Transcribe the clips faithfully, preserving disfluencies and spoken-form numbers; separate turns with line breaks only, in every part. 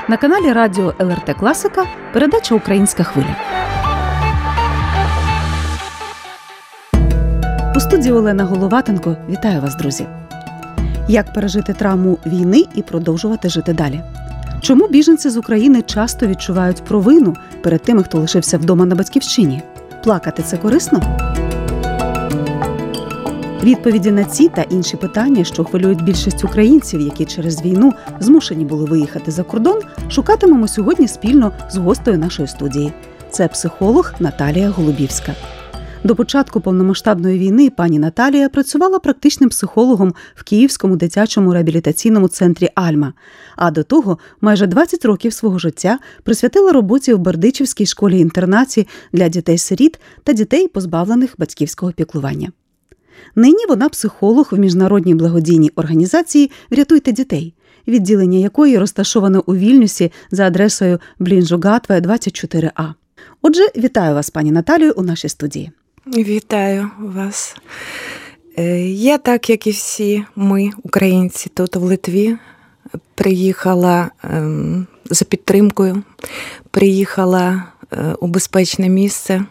На каналі радіо ел ер те Класика передача «Українська хвиля». У студії Олена Головатенко. Вітаю вас, друзі! Як пережити травму війни і продовжувати жити далі? Чому біженці з України часто відчувають провину перед тими, хто лишився вдома на батьківщині? Плакати – це корисно? Відповіді на ці та інші питання, що хвилюють більшість українців, які через війну змушені були виїхати за кордон, шукатимемо сьогодні спільно з гостею нашої студії. Це психолог Наталія Голубівська. До початку повномасштабної війни пані Наталія працювала практичним психологом в Київському дитячому реабілітаційному центрі «Альма», а до того майже двадцять років свого життя присвятила роботі в Бердичівській школі-інтернаті для дітей-сиріт та дітей, позбавлених батьківського піклування. Нині вона психолог в міжнародній благодійній організації «Врятуйте дітей», відділення якої розташоване у Вільнюсі за адресою Блінжугатве, двадцять чотири А. Отже, вітаю вас, пані Наталію, у нашій студії.
Вітаю вас. Я, так як і всі ми, українці, тут в Литві, приїхала за підтримкою, приїхала у безпечне місце.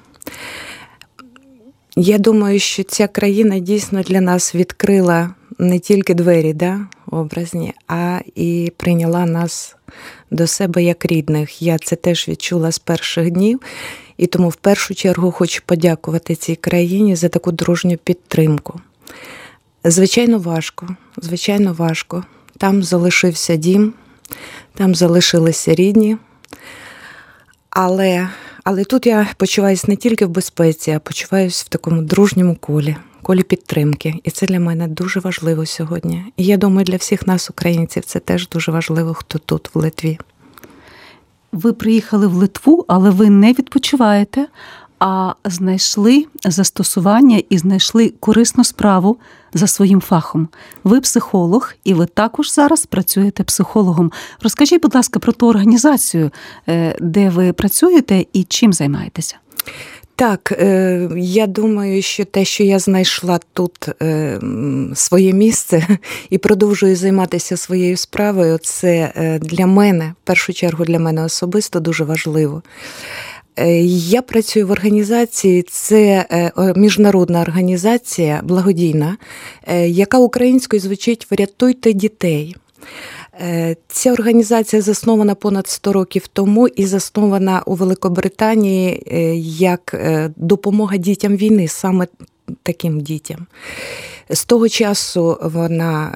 Я думаю, що ця країна дійсно для нас відкрила не тільки двері, да, образні, а і прийняла нас до себе як рідних. Я це теж відчула з перших днів, і тому в першу чергу хочу подякувати цій країні за таку дружню підтримку. Звичайно, важко, звичайно, важко. Там залишився дім, там залишилися рідні, але... Але тут я почуваюся не тільки в безпеці, а почуваюся в такому дружньому колі, колі підтримки. І це для мене дуже важливо сьогодні. І я думаю, для всіх нас, українців, це теж дуже важливо, хто тут, в Литві.
Ви приїхали в Литву, але ви не відпочиваєте, а знайшли застосування і знайшли корисну справу за своїм фахом. Ви психолог, і ви також зараз працюєте психологом. Розкажіть, будь ласка, про ту організацію, де ви працюєте і чим займаєтеся.
Так, я думаю, що те, що я знайшла тут своє місце і продовжую займатися своєю справою, це для мене, в першу чергу для мене особисто дуже важливо. Я працюю в організації, це міжнародна організація, благодійна, яка українською звучить «Врятуйте дітей». Ця організація заснована понад сто років тому і заснована у Великобританії як допомога дітям війни, саме таким дітям. З того часу вона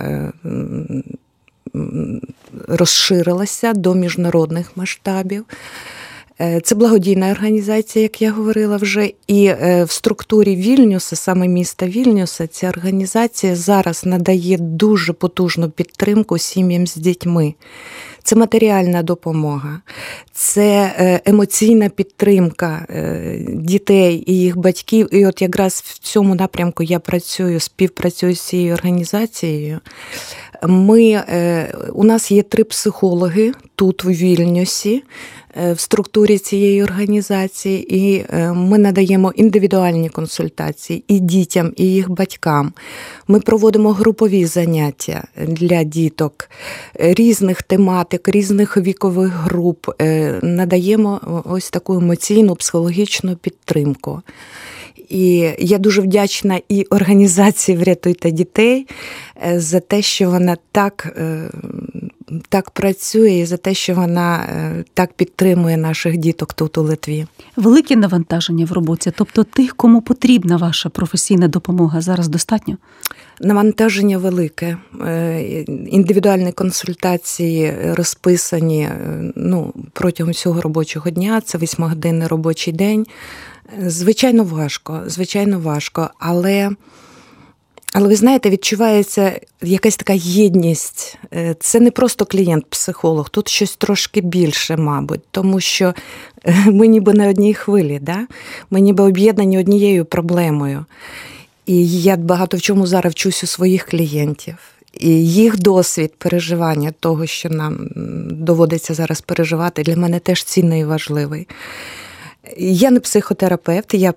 розширилася до міжнародних масштабів. Це благодійна організація, як я говорила вже, і в структурі Вільнюса, саме міста Вільнюса, ця організація зараз надає дуже потужну підтримку сім'ям з дітьми. Це матеріальна допомога, це емоційна підтримка дітей і їх батьків. І от якраз в цьому напрямку я працюю, співпрацюю з цією організацією. Ми, у нас є три психологи тут, у Вільнюсі, в структурі цієї організації, і ми надаємо індивідуальні консультації і дітям, і їх батькам. Ми проводимо групові заняття для діток різних тематик, різних вікових груп, надаємо ось таку емоційну, психологічну підтримку. І я дуже вдячна і організації «Врятуйте дітей» за те, що вона так, так працює, і за те, що вона так підтримує наших діток тут у Литві.
Велике навантаження в роботі, тобто тих, кому потрібна ваша професійна допомога, зараз достатньо?
Навантаження велике. Індивідуальні консультації розписані ну, протягом всього робочого дня, це восьмигодинний робочий день. Звичайно, важко, звичайно, важко, але, але ви знаєте, відчувається якась така єдність. Це не просто клієнт-психолог, тут щось трошки більше, мабуть, тому що ми ніби на одній хвилі, да? Ми ніби об'єднані однією проблемою. І я багато в чому зараз вчусь у своїх клієнтів. І їх досвід переживання того, що нам доводиться зараз переживати, для мене теж цінний і важливий. Я не психотерапевт, я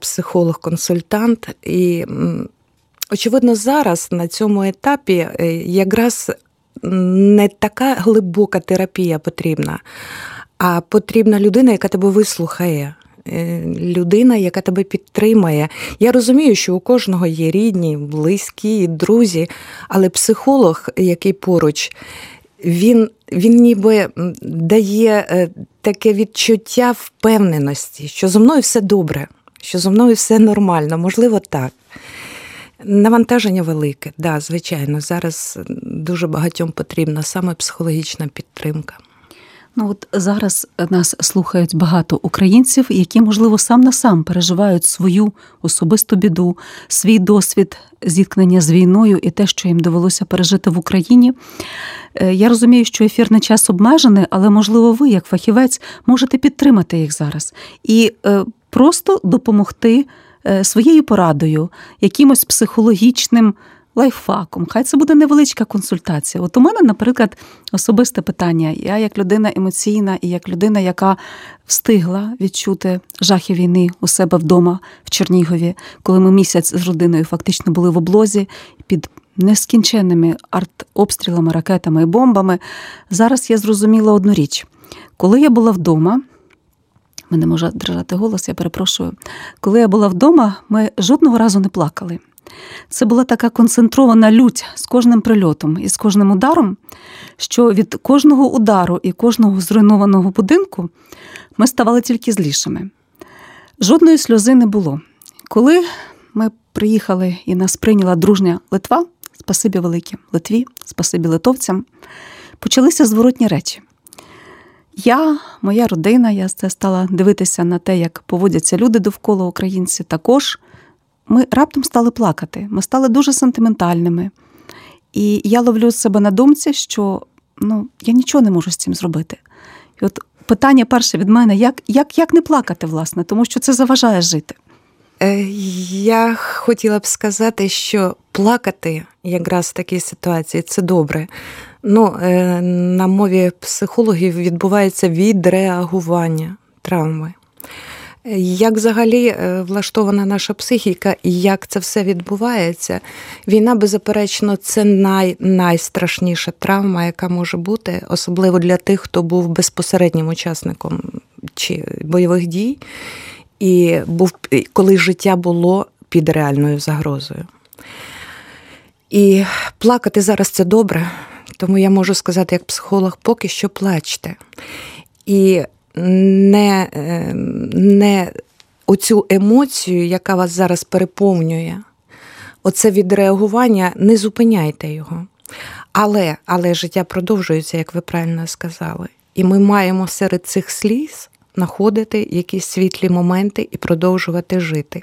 психолог-консультант. І, очевидно, зараз на цьому етапі якраз не така глибока терапія потрібна, а потрібна людина, яка тебе вислухає. Людина, яка тебе підтримає. Я розумію, що у кожного є рідні, близькі, друзі, але психолог, який поруч, він, він ніби дає таке відчуття впевненості, що зо мною все добре, що зо мною все нормально, можливо, так. Навантаження велике, да, звичайно, зараз дуже багатьом потрібна саме психологічна підтримка.
Ну от зараз нас слухають багато українців, які, можливо, сам на сам переживають свою особисту біду, свій досвід зіткнення з війною і те, що їм довелося пережити в Україні. Я розумію, що ефірний час обмежений, але, можливо, ви, як фахівець, можете підтримати їх зараз і просто допомогти своєю порадою, якимось психологічним лайфхаком. Хай це буде невеличка консультація. От у мене, наприклад, особисте питання. Я як людина емоційна і як людина, яка встигла відчути жахи війни у себе вдома в Чернігові, коли ми місяць з родиною фактично були в облозі під нескінченними артобстрілами, ракетами і бомбами, зараз я зрозуміла одну річ. Коли я була вдома, мене може держати голос, я перепрошую. Коли я була вдома, ми жодного разу не плакали. Це була така концентрована лють з кожним прильотом і з кожним ударом, що від кожного удару і кожного зруйнованого будинку ми ставали тільки злішими. Жодної сльози не було. Коли ми приїхали і нас прийняла дружня Литва, спасибі велике Литві, спасибі литовцям, почалися зворотні речі. Я, моя родина, я це стала дивитися на те, як поводяться люди довкола, українці також. Ми раптом стали плакати, ми стали дуже сентиментальними. І я ловлю себе на думці, що ну, я нічого не можу з цим зробити. І от питання перше від мене, як, як, як не плакати, власне, тому що це заважає жити.
Я хотіла б сказати, що плакати якраз в такій ситуації – це добре. Ну, на мові психологів відбувається відреагування травми. Як взагалі влаштована наша психіка і як це все відбувається? Війна, беззаперечно, це най, найстрашніша травма, яка може бути, особливо для тих, хто був безпосереднім учасником чи бойових дій, і був, коли життя було під реальною загрозою. І плакати зараз – це добре, тому я можу сказати, як психолог, поки що плачте. І не, не оцю емоцію, яка вас зараз переповнює, оце відреагування, не зупиняйте його. Але, але життя продовжується, як ви правильно сказали. І ми маємо серед цих сліз знаходити якісь світлі моменти і продовжувати жити.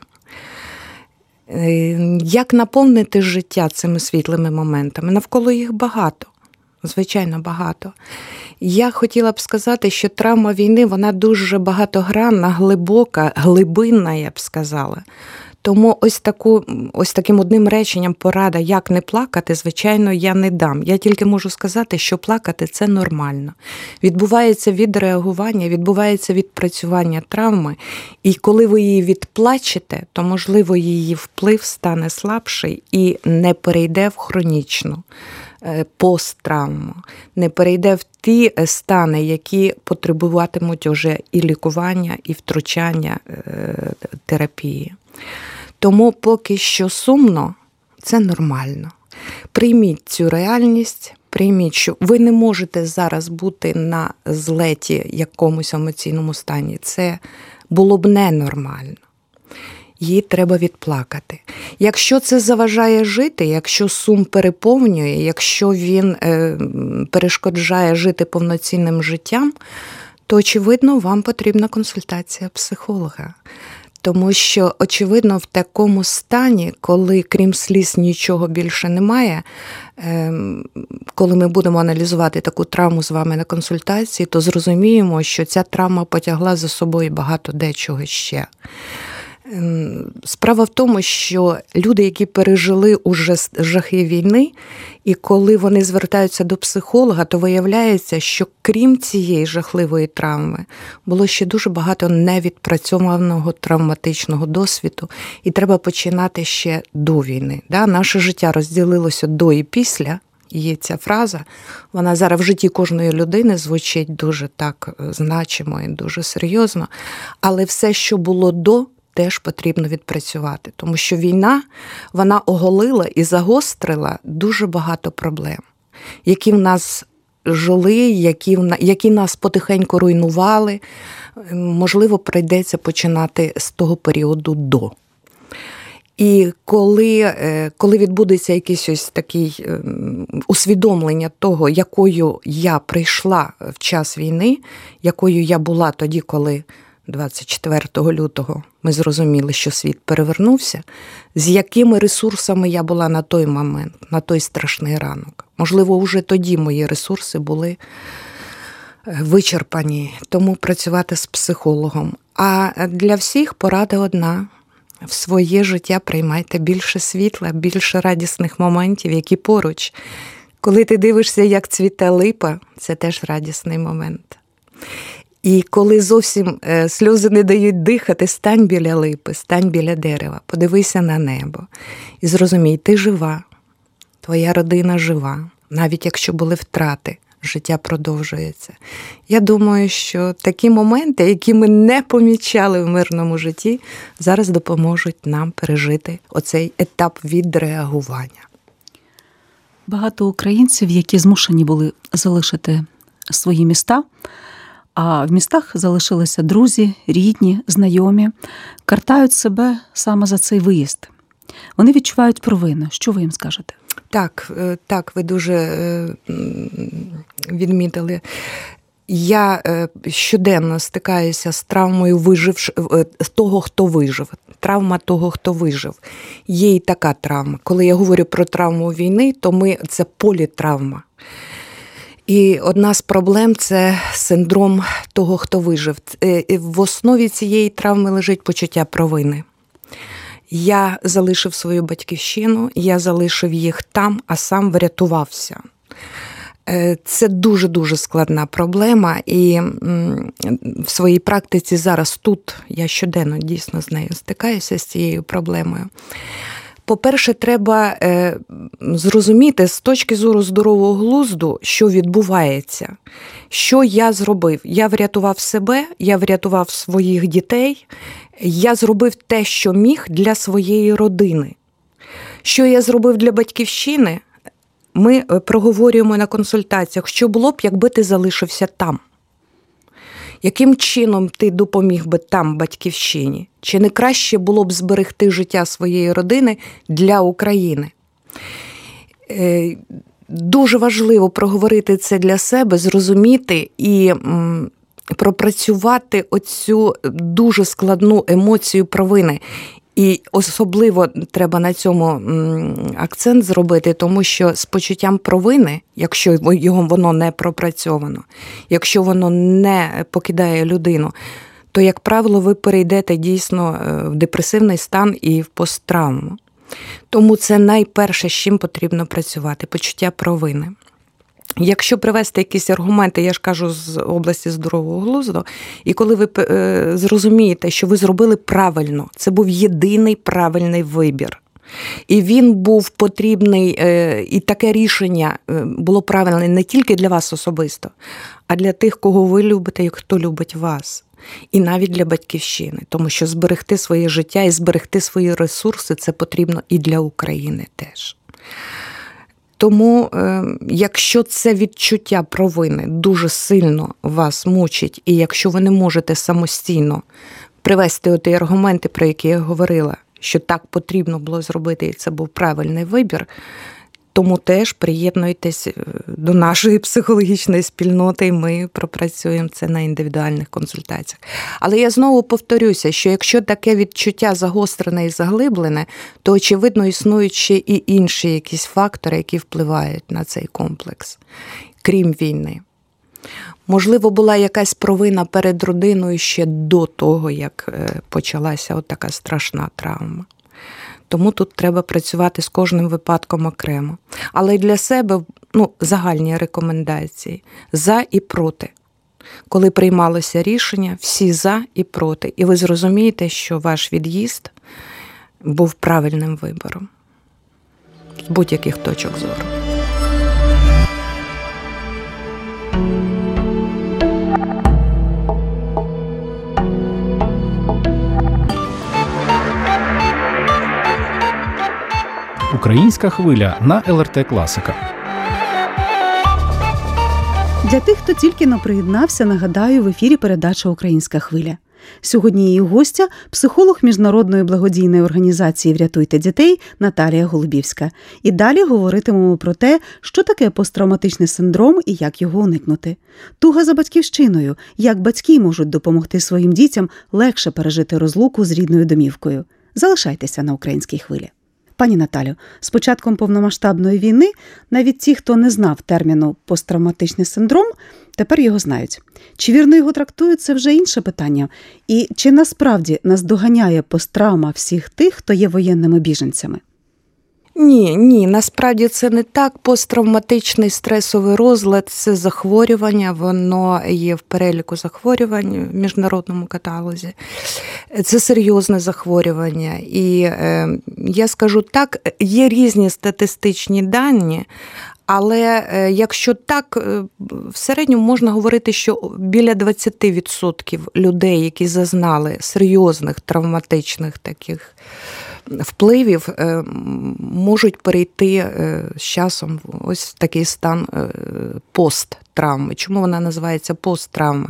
Як наповнити життя цими світлими моментами? Навколо їх багато. Звичайно, багато. Я хотіла б сказати, що травма війни, вона дуже багатогранна, глибока, глибинна, я б сказала. Тому ось, таку, ось таким одним реченням порада, як не плакати, звичайно, я не дам. Я тільки можу сказати, що плакати – це нормально. Відбувається відреагування, відбувається відпрацювання травми, і коли ви її відплачете, то, можливо, її вплив стане слабший і не перейде в хронічну посттравму, не перейде в ті стани, які потребуватимуть уже і лікування, і втручання терапії. Тому поки що сумно, це нормально. Прийміть цю реальність, прийміть, що ви не можете зараз бути на злеті якомусь емоційному стані. Це було б ненормально. Її треба відплакати. Якщо це заважає жити, якщо сум переповнює, якщо він е, перешкоджає жити повноцінним життям, то, очевидно, вам потрібна консультація психолога. Тому що, очевидно, в такому стані, коли крім сліз нічого більше немає, коли ми будемо аналізувати таку травму з вами на консультації, то зрозуміємо, що ця травма потягла за собою багато дечого ще. Справа в тому, що люди, які пережили уже жахи війни, і коли вони звертаються до психолога, то виявляється, що крім цієї жахливої травми, було ще дуже багато невідпрацьованого травматичного досвіду, і треба починати ще до війни. Да? Наше життя розділилося до і після Є ця фраза, вона зараз в житті кожної людини звучить дуже так значимо і дуже серйозно, але все, що було до, теж потрібно відпрацювати, тому що війна, вона оголила і загострила дуже багато проблем, які в нас жили, які, які нас потихеньку руйнували. Можливо, прийдеться починати з того періоду до. І коли, коли відбудеться якесь ось таке усвідомлення того, якою я прийшла в час війни, якою я була тоді, коли двадцять четвертого лютого ми зрозуміли, що світ перевернувся, з якими ресурсами я була на той момент, на той страшний ранок. Можливо, вже тоді мої ресурси були вичерпані, тому працювати з психологом. А для всіх порада одна. В своє життя приймайте більше світла, більше радісних моментів, які поруч. Коли ти дивишся, як цвіте липа, це теж радісний момент. І коли зовсім сльози не дають дихати, стань біля липи, стань біля дерева, подивися на небо. І зрозумій, ти жива, твоя родина жива, навіть якщо були втрати. Життя продовжується. Я думаю, що такі моменти, які ми не помічали в мирному житті, зараз допоможуть нам пережити оцей етап відреагування.
Багато українців, які змушені були залишити свої міста, а в містах залишилися друзі, рідні, знайомі, картають себе саме за цей виїзд. Вони відчувають провину. Що ви їм скажете?
Так, так, ви дуже відмітили. Я щоденно стикаюся з травмою вижив, того, хто вижив. Травма того, хто вижив. Є і така травма. Коли я говорю про травму війни, то ми, це політравма. І одна з проблем – це синдром того, хто вижив. В основі цієї травми лежить почуття провини. Я залишив свою батьківщину, я залишив їх там, а сам врятувався. Це дуже-дуже складна проблема, і в своїй практиці зараз тут я щоденно дійсно з нею стикаюся, з цією проблемою. По-перше, треба зрозуміти з точки зору здорового глузду, що відбувається. Що я зробив? Я врятував себе, я врятував своїх дітей, я зробив те, що міг для своєї родини. Що я зробив для батьківщини? Ми проговорюємо на консультаціях, що було б, якби ти залишився там. Яким чином ти допоміг би там батьківщині? Чи не краще було б зберегти життя своєї родини для України? Дуже важливо проговорити це для себе, зрозуміти і пропрацювати оцю дуже складну емоцію провини. І особливо треба на цьому акцент зробити, тому що з почуттям провини, якщо його воно не пропрацьовано, якщо воно не покидає людину, то, як правило, ви перейдете дійсно в депресивний стан і в посттравму. Тому це найперше, з чим потрібно працювати – почуття провини. Якщо привести якісь аргументи, я ж кажу, з області здорового глузду, і коли ви е, зрозумієте, що ви зробили правильно, це був єдиний правильний вибір. І він був потрібний, е, і таке рішення було правильне не тільки для вас особисто, а для тих, кого ви любите і хто любить вас. І навіть для батьківщини, тому що зберегти своє життя і зберегти свої ресурси – це потрібно і для України теж. Тому, якщо це відчуття провини дуже сильно вас мучить, і якщо ви не можете самостійно привести оті аргументи, про які я говорила, що так потрібно було зробити, і це був правильний вибір, тому теж приєднуйтесь до нашої психологічної спільноти, і ми пропрацюємо це на індивідуальних консультаціях. Але я знову повторюся, що якщо таке відчуття загострене і заглиблене, то, очевидно, існують ще і інші якісь фактори, які впливають на цей комплекс, крім війни. Можливо, була якась провина перед родиною ще до того, як почалася от така страшна травма. Тому тут треба працювати з кожним випадком окремо. Але й для себе, ну, загальні рекомендації – за і проти. Коли приймалося рішення, всі за і проти. І ви зрозумієте, що ваш від'їзд був правильним вибором з будь-яких точок зору.
Українська хвиля на ел ер те Класика.
Для тих, хто тільки но приєднався, нагадаю, в ефірі передача «Українська хвиля». Сьогодні її гостя – психолог міжнародної благодійної організації «Врятуйте дітей» Наталія Голубівська. І далі говоритимемо про те, що таке посттравматичний синдром і як його уникнути. Туга за батьківщиною, як батьки можуть допомогти своїм дітям легше пережити розлуку з рідною домівкою. Залишайтеся на «Українській хвилі». Пані Наталю, з початком повномасштабної війни навіть ті, хто не знав терміну посттравматичний синдром, тепер його знають. Чи вірно його трактують – це вже інше питання. І чи насправді наздоганяє посттравма всіх тих, хто є воєнними біженцями?
Ні, ні, насправді це не так. Посттравматичний стресовий розлад – це захворювання, воно є в переліку захворювань в міжнародному каталозі. Це серйозне захворювання. І е, я скажу так, є різні статистичні дані, але е, якщо так, е, в середньому можна говорити, що біля двадцять відсотків людей, які зазнали серйозних травматичних таких впливів, можуть перейти з часом в ось такий стан посттравми. Чому вона називається посттравма?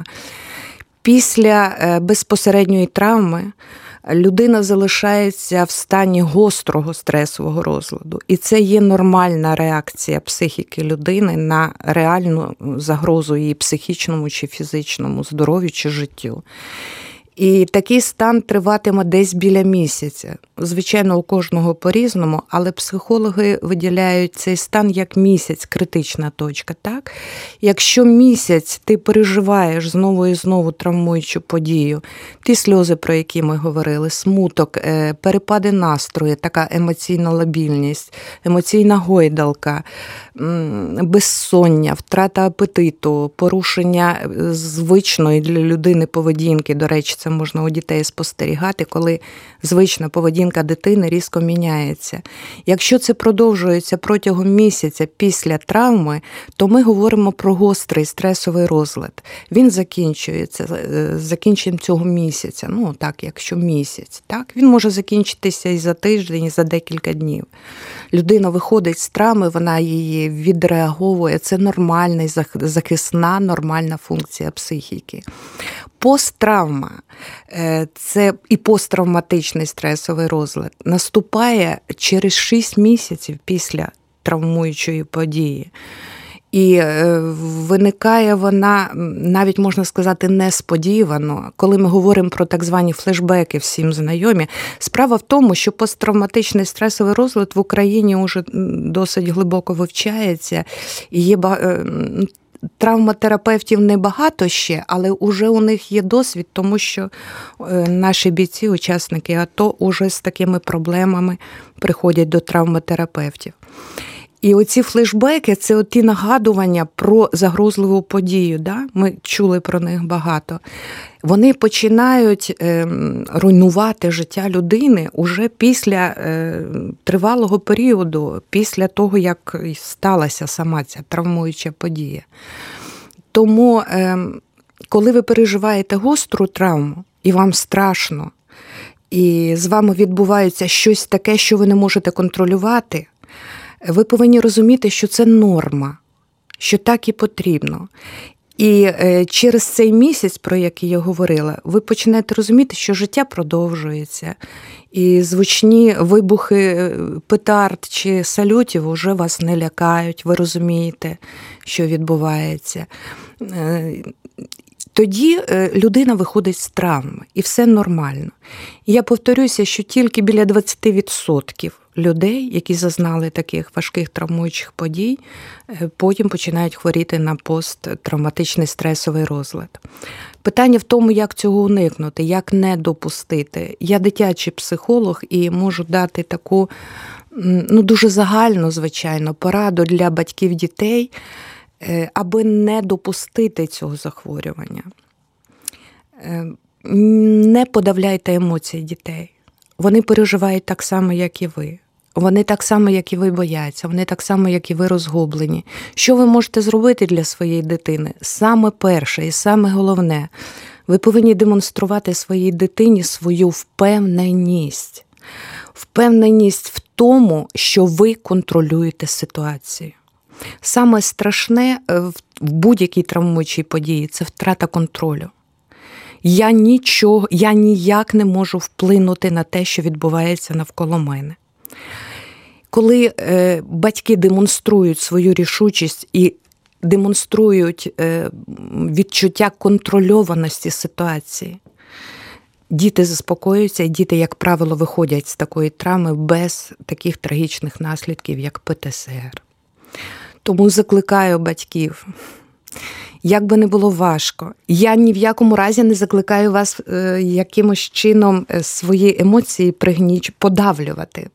Після безпосередньої травми людина залишається в стані гострого стресового розладу. І це є нормальна реакція психіки людини на реальну загрозу її психічному чи фізичному здоров'ю чи життю. І такий стан триватиме десь біля місяця. Звичайно, у кожного по-різному, але психологи виділяють цей стан як місяць, критична точка. Так? Якщо місяць ти переживаєш знову і знову травмуючу подію, ті сльози, про які ми говорили, смуток, перепади настрою, така емоційна лабільність, емоційна гойдалка, безсоння, втрата апетиту, порушення звичної для людини поведінки, до речі, це можна у дітей спостерігати, коли звична поведінка дитини різко міняється. Якщо це продовжується протягом місяця після травми, то ми говоримо про гострий стресовий розлад. Він закінчується з закінченням цього місяця. Ну, так, якщо місяць. Так? Він може закінчитися і за тиждень, і за декілька днів. Людина виходить з травми, вона її відреаговує. Це нормальна, захисна, нормальна функція психіки. Посттравма – це і посттравматичний стресовий розлад наступає через шість місяців після травмуючої події. І виникає вона, навіть можна сказати, несподівано. Коли ми говоримо про так звані флешбеки, всім знайомі, справа в тому, що посттравматичний стресовий розлад в Україні вже досить глибоко вивчається. І є травматерапевтів небагато ще, але вже у них є досвід, тому що наші бійці, учасники АТО, уже з такими проблемами приходять до травматерапевтів. І оці флешбеки – це ті нагадування про загрозливу подію. Да? Ми чули про них багато. Вони починають е, руйнувати життя людини уже після е, тривалого періоду, після того, як сталася сама ця травмуюча подія. Тому, е, коли ви переживаєте гостру травму, і вам страшно, і з вами відбувається щось таке, що ви не можете контролювати, ви повинні розуміти, що це норма, що так і потрібно. І через цей місяць, про який я говорила, ви почнете розуміти, що життя продовжується. І звучні вибухи петард чи салютів вже вас не лякають, ви розумієте, що відбувається. Тоді людина виходить з травми, і все нормально. І я повторюся, що тільки біля двадцять відсотків людей, які зазнали таких важких травмуючих подій, потім починають хворіти на посттравматичний стресовий розлад. Питання в тому, як цього уникнути, як не допустити. Я дитячий психолог і можу дати таку, ну, дуже загальну, звичайно, пораду для батьків дітей, аби не допустити цього захворювання. Не подавляйте емоції дітей. Вони переживають так само, як і ви. Вони так само, як і ви, бояться. Вони так само, як і ви, розгублені. Що ви можете зробити для своєї дитини? Саме перше і саме головне – ви повинні демонструвати своїй дитині свою впевненість. Впевненість в тому, що ви контролюєте ситуацію. Саме страшне в будь-якій травмуючій події – це втрата контролю. Я нічого, я ніяк не можу вплинути на те, що відбувається навколо мене. Коли е, батьки демонструють свою рішучість і демонструють е, відчуття контрольованості ситуації, діти заспокоюються, і діти, як правило, виходять з такої травми без таких трагічних наслідків, як пе те ес ер. Тому закликаю батьків, як би не було важко, я ні в якому разі не закликаю вас е, якимось чином свої емоції пригніч, подавлювати.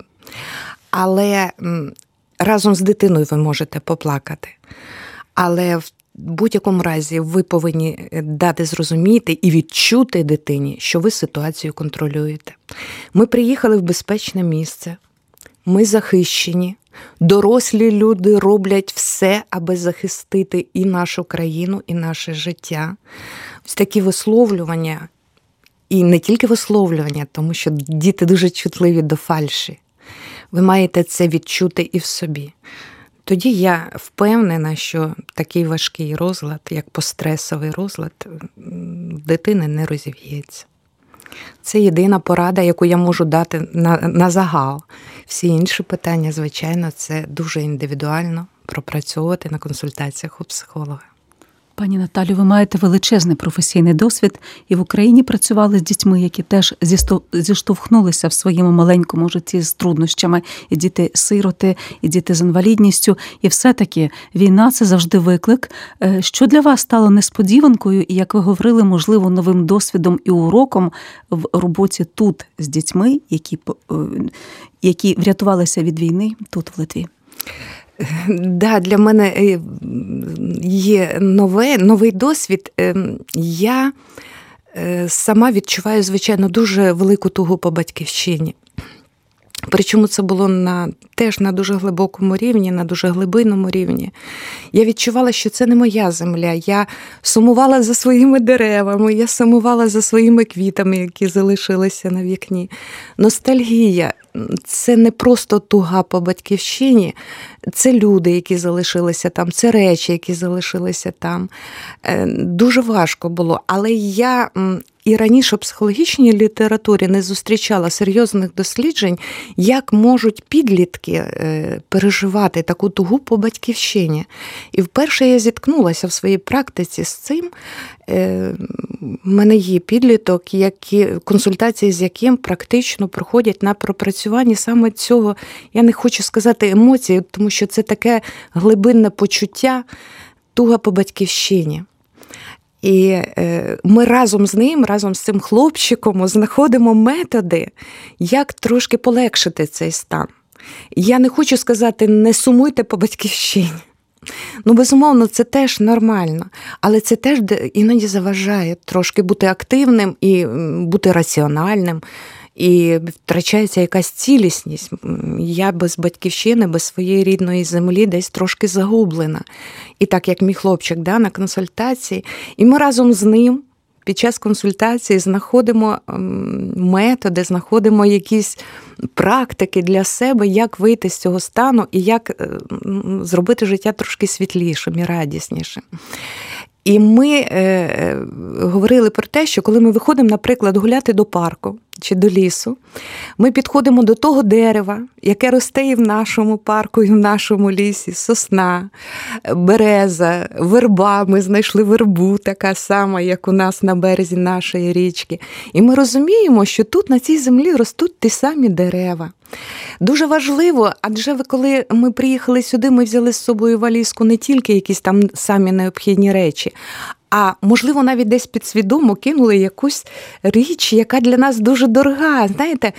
Але м, разом з дитиною ви можете поплакати. Але в будь-якому разі ви повинні дати зрозуміти і відчути дитині, що ви ситуацію контролюєте. Ми приїхали в безпечне місце, ми захищені, дорослі люди роблять все, аби захистити і нашу країну, і наше життя. Ось такі висловлювання, і не тільки висловлювання, тому що діти дуже чутливі до фальші. Ви маєте це відчути і в собі. Тоді я впевнена, що такий важкий розлад, як постресовий розлад, в дитини не розів'ється. Це єдина порада, яку я можу дати на, на загал. Всі інші питання, звичайно, це дуже індивідуально пропрацьовувати на консультаціях у психолога.
Пані Наталю, ви маєте величезний професійний досвід і в Україні працювали з дітьми, які теж зіштовхнулися в своєму маленькому житті з труднощами. І діти-сироти, і діти з інвалідністю. І все-таки війна – це завжди виклик. Що для вас стало несподіванкою і, як ви говорили, можливо, новим досвідом і уроком в роботі тут з дітьми, які, які врятувалися від війни тут, в Литві?
Да, для мене є нове, новий досвід. Я сама відчуваю, звичайно, дуже велику тугу по батьківщині. Причому це було на, теж на дуже глибокому рівні, на дуже глибинному рівні. Я відчувала, що це не моя земля. Я сумувала за своїми деревами, я сумувала за своїми квітами, які залишилися на вікні. Ностальгія – це не просто туга по батьківщині, це люди, які залишилися там, це речі, які залишилися там. Дуже важко було, але я і раніше в психологічній літературі не зустрічала серйозних досліджень, як можуть підлітки переживати таку тугу по батьківщині. І вперше я зіткнулася в своїй практиці з цим. У мене є підліток, які, консультації з яким практично проходять на пропрацюванні саме цього, я не хочу сказати емоції, тому що це таке глибинне почуття, туга по батьківщині. І ми разом з ним, разом з цим хлопчиком знаходимо методи, як трошки полегшити цей стан. Я не хочу сказати, не сумуйте по батьківщині. Ну, безумовно, це теж нормально, але це теж іноді заважає трошки бути активним і бути раціональним, і втрачається якась цілісність. Я без батьківщини, без своєї рідної землі десь трошки загублена. І так, як мій хлопчик, да, на консультації, і ми разом з ним під час консультації знаходимо методи, знаходимо якісь практики для себе, як вийти з цього стану і як зробити життя трошки світлішим і радіснішим. І ми е, говорили про те, що коли ми виходимо, наприклад, гуляти до парку чи до лісу, ми підходимо до того дерева, яке росте і в нашому парку, і в нашому лісі, сосна, береза, верба. Ми знайшли вербу, така сама, як у нас на березі нашої річки. І ми розуміємо, що тут, на цій землі, ростуть ті самі дерева. Дуже важливо, адже коли ми приїхали сюди, ми взяли з собою валізку не тільки якісь там самі необхідні речі, а, можливо, навіть десь підсвідомо кинули якусь річ, яка для нас дуже дорога. Знаєте,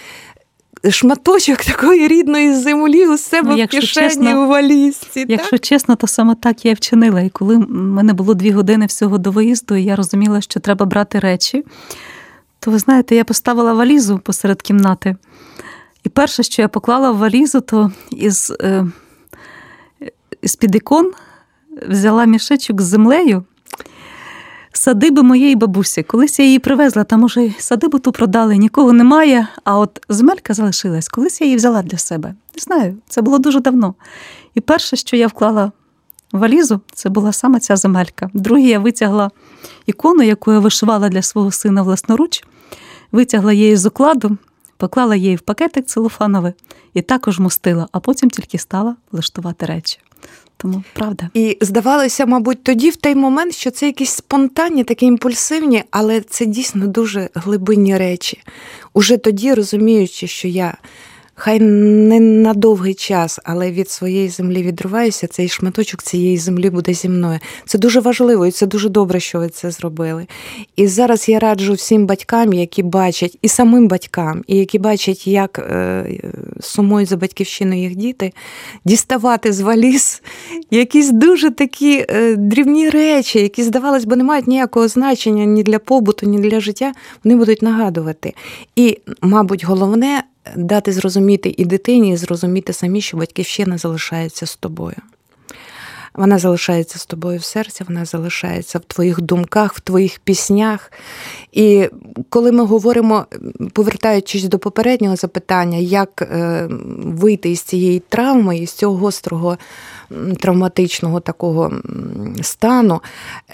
шматочок такої рідної землі у себе ну, в кишені, чесно, у валізці.
Якщо
так?
чесно, то саме так я вчинила. І коли в мене було дві години всього до виїзду, і я розуміла, що треба брати речі, то, ви знаєте, я поставила валізу посеред кімнати. І перше, що я поклала в валізу, то із, е, із-під ікон взяла мішечок з землею, садиби моєї бабусі. Колись я її привезла, там уже садибу ту продали, нікого немає, а от земелька залишилась. Колись я її взяла для себе. Не знаю, це було дуже давно. І перше, що я вклала в валізу, це була саме ця земелька. Друге, я витягла ікону, яку я вишивала для свого сина власноруч, витягла її з укладу, поклала її в пакетик целофановий і також мостила, а потім тільки стала влаштувати речі. Тому, правда.
І здавалося, мабуть, тоді в той момент, що це якісь спонтанні, такі імпульсивні, але це дійсно дуже глибинні речі. Уже тоді, розуміючи, що я хай не на довгий час, але від своєї землі відриваюся, цей шматочок цієї землі буде зі мною. Це дуже важливо і це дуже добре, що ви це зробили. І зараз я раджу всім батькам, які бачать, і самим батькам, і які бачать, як е, сумують за батьківщиною їх діти, діставати з валіз якісь дуже такі е, дрібні речі, які, здавалось би, не мають ніякого значення ні для побуту, ні для життя, вони будуть нагадувати. І, мабуть, головне – дати зрозуміти і дитині, і зрозуміти самі, що батьківщина залишається з тобою. Вона залишається з тобою в серці, вона залишається в твоїх думках, в твоїх піснях. І коли ми говоримо, повертаючись до попереднього запитання, як вийти із цієї травми, із цього гострого травматичного такого стану,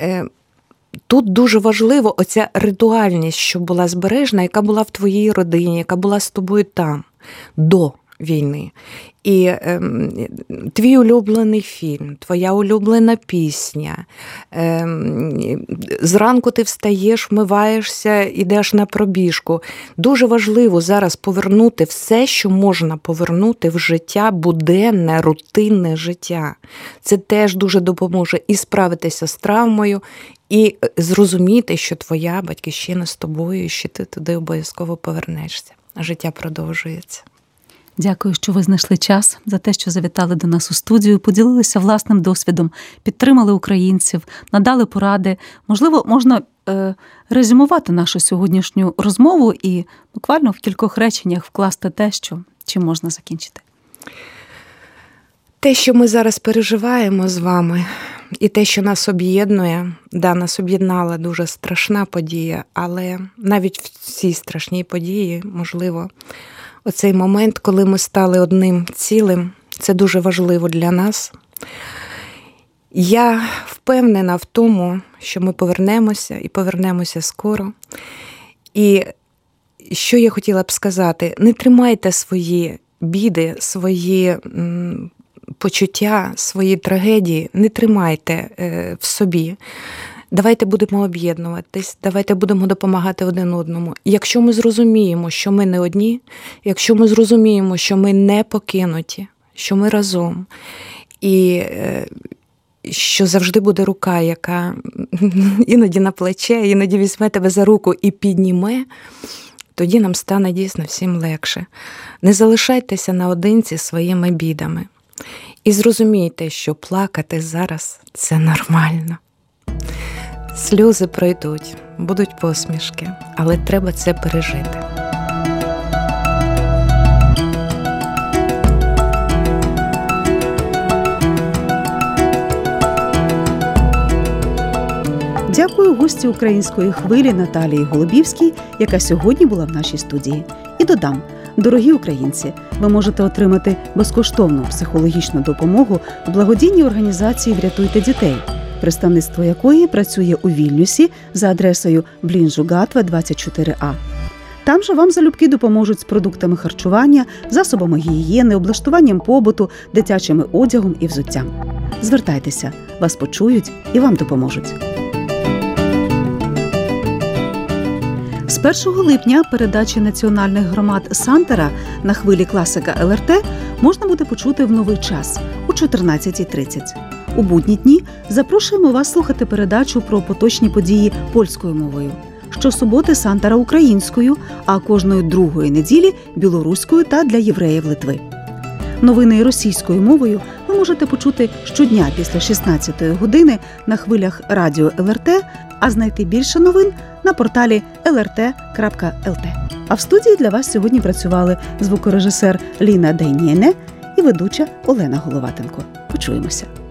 тут дуже важливо оця ритуальність, що була збережена, яка була в твоїй родині, яка була з тобою там, до війни. І е, твій улюблений фільм, твоя улюблена пісня. Е, зранку ти встаєш, вмиваєшся, йдеш на пробіжку. Дуже важливо зараз повернути все, що можна повернути в життя, буденне, рутинне життя. Це теж дуже допоможе і справитися з травмою, і зрозуміти, що твоя батьківщина з тобою, і що ти туди обов'язково повернешся. Життя продовжується.
Дякую, що ви знайшли час, за те, що завітали до нас у студію, поділилися власним досвідом, підтримали українців, надали поради. Можливо, можна е, резюмувати нашу сьогоднішню розмову і буквально в кількох реченнях вкласти те, що, чим можна закінчити.
Те, що ми зараз переживаємо з вами, і те, що нас об'єднує, да, нас об'єднала дуже страшна подія, але навіть в цій страшній події, можливо, оцей момент, коли ми стали одним цілим, це дуже важливо для нас. Я впевнена в тому, що ми повернемося і повернемося скоро. І що я хотіла б сказати, не тримайте свої біди, свої м, почуття, свої трагедії, не тримайте е, в собі. Давайте будемо об'єднуватись, давайте будемо допомагати один одному. Якщо ми зрозуміємо, що ми не одні, якщо ми зрозуміємо, що ми не покинуті, що ми разом, і що завжди буде рука, яка іноді на плече, іноді візьме тебе за руку і підніме, тоді нам стане дійсно всім легше. Не залишайтеся наодинці своїми бідами. І зрозумійте, що плакати зараз – це нормально. Сльози пройдуть, будуть посмішки, але треба це пережити.
Дякую гості української хвилі Наталії Голубівській, яка сьогодні була в нашій студії. І додам, дорогі українці, ви можете отримати безкоштовну психологічну допомогу в благодійній організації «Врятуйте дітей», представництво якої працює у Вільнюсі за адресою Блінжу-Гатва, двадцять чотири А. Там же вам залюбки допоможуть з продуктами харчування, засобами гігієни, облаштуванням побуту, дитячим одягом і взуттям. Звертайтеся, вас почують і вам допоможуть. З першого липня передачі національних громад Сантера на хвилі класика Ел Ер Те можна буде почути в новий час у чотирнадцятій тридцять. У будні дні запрошуємо вас слухати передачу про поточні події польською мовою. Щосуботи Сантера українською, а кожної другої неділі білоруською та для євреїв Литви. Новини російською мовою ви можете почути щодня після шістнадцятої години на хвилях радіо Ел Ер Те, а знайти більше новин на порталі ел ер те крапка ел те. А в студії для вас сьогодні працювали звукорежисер Ліна Дейнєне і ведуча Олена Головатенко. Почуємося.